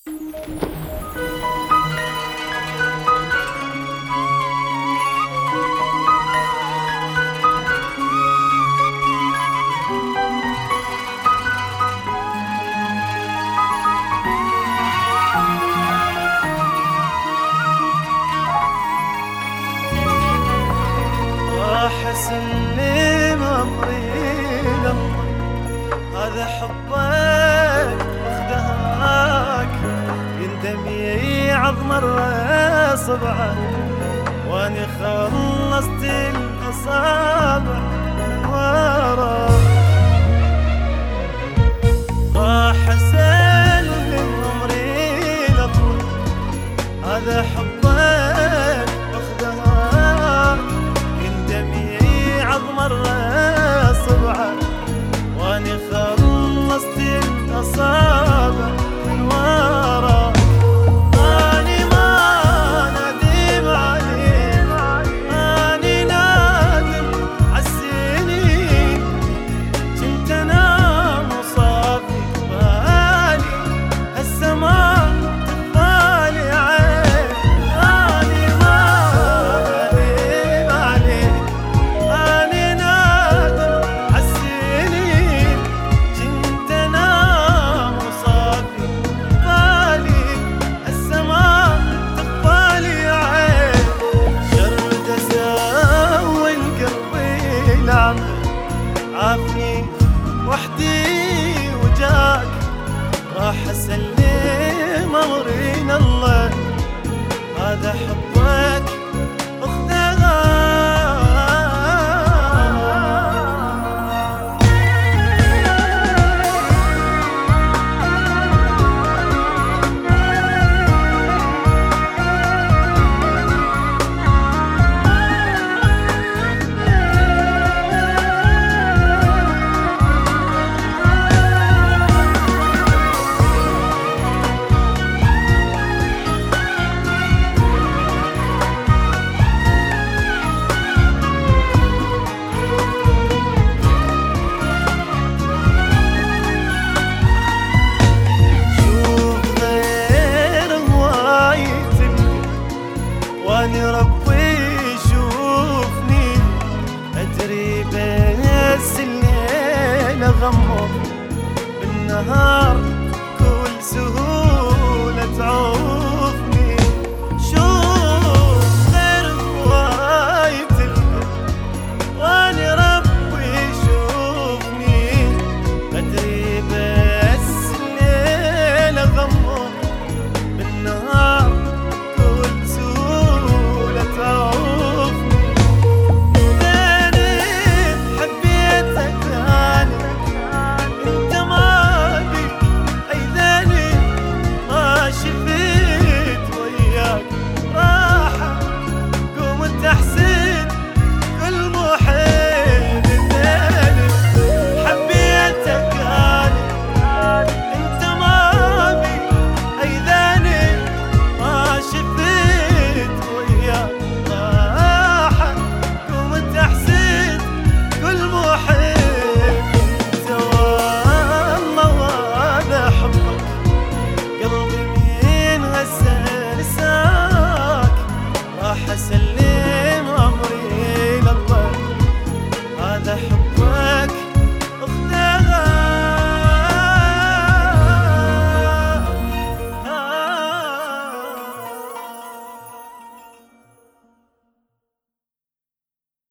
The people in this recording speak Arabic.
اسلم امري لله، هذا حبك واخدهاك، يندم يعظم صبعه، واني خلصت الاصابع من ورا. راح اسلم امري لله، هذا حبك واخدهاك، مرة صبعه، واني خلصت الاصابع من ورا. اني ما ندم عليك، اني نادم عالسنين، كنت انا مصابي بالي هسه ما تبالي عين. اني ما ندم عليك، عافني وحدي وجاك. راح اسلم امري لله، هذا حبك